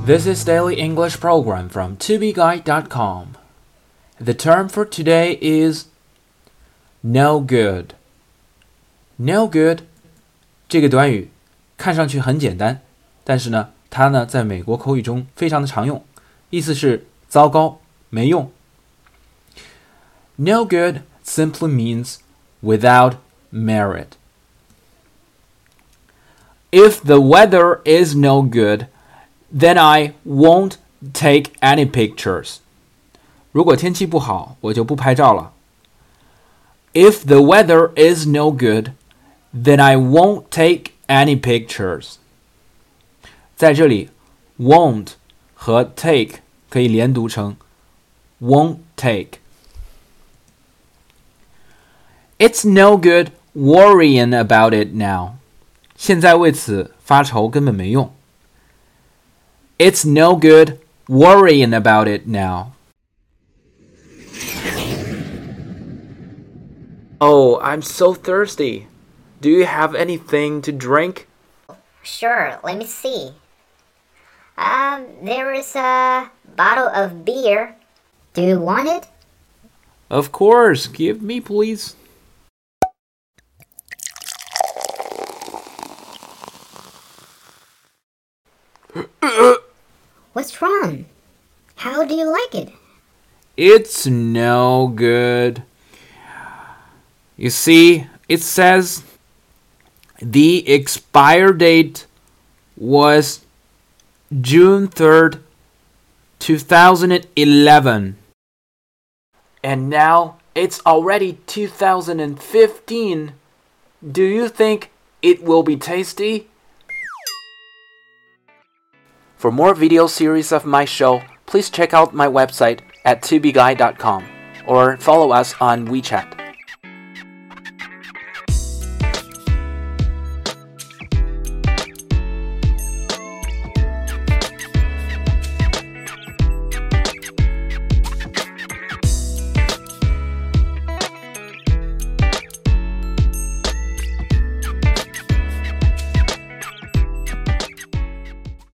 This is Daily English Program from tobeguide.com. The term for today is no good. No good 这个短语看上去很简单，但是呢，它呢在美国口语中非常的常用，意思是糟糕，没用。No good simply means without merit. If the weather is no good, then I won't take any pictures. 如果天气不好，我就不拍照了。If the weather is no good, then I won't take any pictures. 在这里 won't 和 take 可以连读成 won't take. It's no good worrying about it now. 现在为此发愁根本没用。It's no good worrying about it now. Oh, I'm so thirsty. Do you have anything to drink? Sure, let me see. There is a bottle of beer. Do you want it? Of course. Give me, please. What's wrong? How do you like it? It's no good. You see, it says the expire date was June 3rd, 2011. And now it's already 2015. Do you think it will be tasty? For more video series of my show, please check out my website at tubeguide.com or follow us on WeChat.